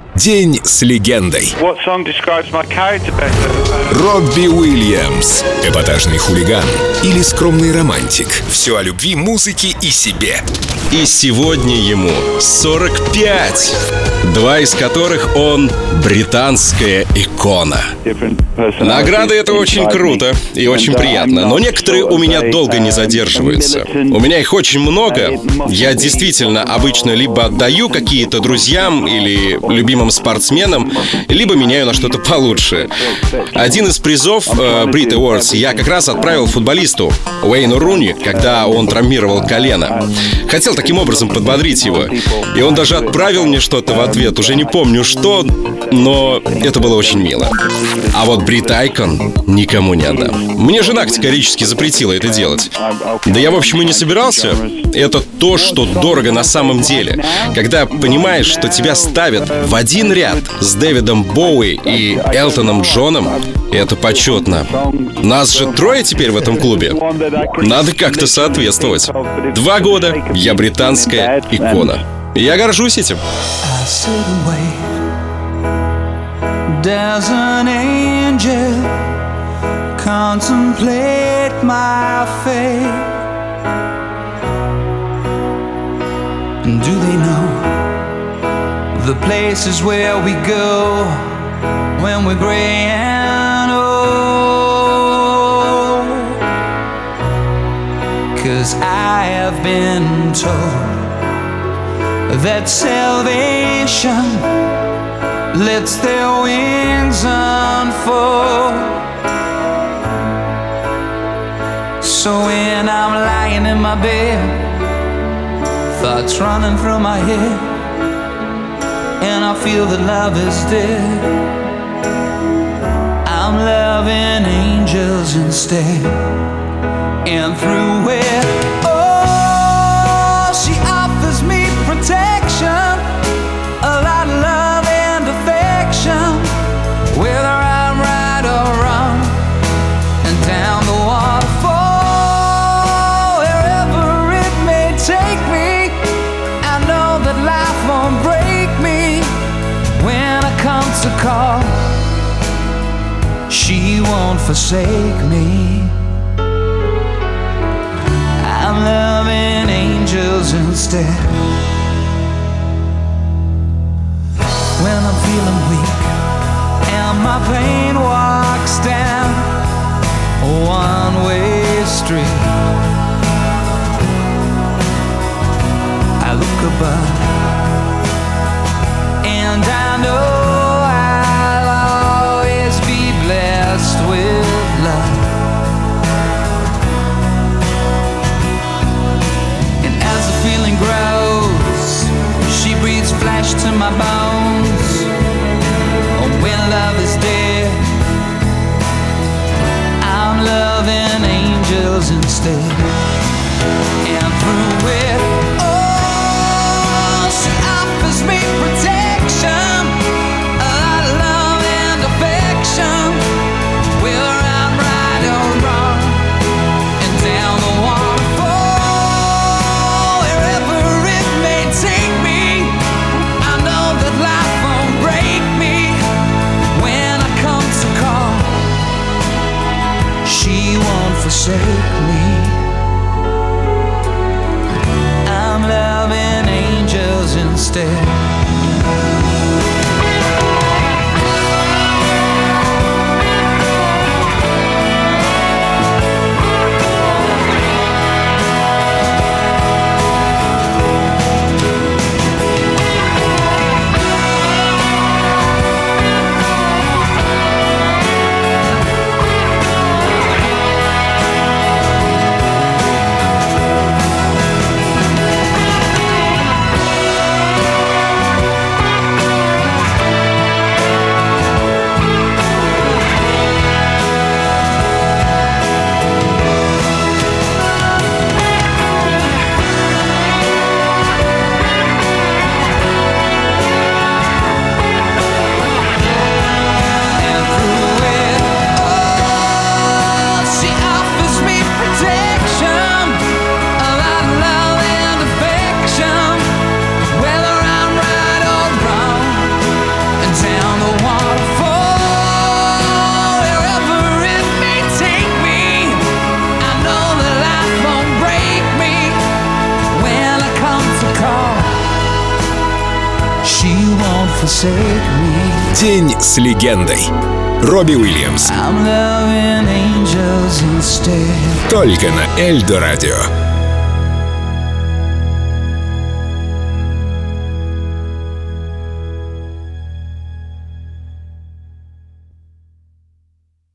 День с легендой. Робби Уильямс. Эпатажный хулиган или скромный романтик. Все о любви, музыке и себе. И сегодня ему 45, два из которых он британская икона. Награды — это очень круто и очень приятно, но некоторые у меня долго не задерживаются. У меня их очень много. Я действительно обычно либо отдаю какие-то друзьям или любимым спортсменам, либо меняю на что-то получше. Один из призов Brit Awards я как раз отправил футболисту Уэйну Руни, когда он травмировал колено. Хотел таким образом подбодрить его. И он даже отправил мне что-то в ответ. Уже не помню что, но это было очень мило. А вот Брит Айкон никому не отдам. Мне жена категорически запретила это делать. Да я, в общем, и не собирался. Это то, что дорого на самом деле. Когда понимаешь, что тебя ставят в один ряд с Дэвидом Боуи и Элтоном Джоном, это почетно. Нас же трое теперь в этом клубе. Надо как-то соответствовать. 2 года я британская икона. Я горжусь этим. Does an angel contemplate my fate? And do they know the places where we go when we're gray and old? 'Cause I have been told that salvation lets their wings unfold. So when I'm lying in my bed, thoughts running through my head, and I feel that love is dead, I'm loving angels instead. And through it, oh, she offers me protection, a lot of love and affection, whether I'm right or wrong, and down the waterfall, wherever it may take me, I know that life won't break me when I come to call. She won't forsake me. I'm loving angels instead. When I'm feeling weak and my pain walks down a one-way street, I look above and I know I'll always be blessed with love. And as the feeling grows, she breathes flesh to my bones. When love is dead, I'm loving angels instead. And through it, oh, she offers me protection, a lot of love and affection, whether I'm right or wrong, and down the waterfall, wherever it may take me, I know that life won't break me when I come to call. She won't forsake me. forsake me. День с легендой. Робби Уильямс. I'm loving angels instead. Только на Эльдо Радио.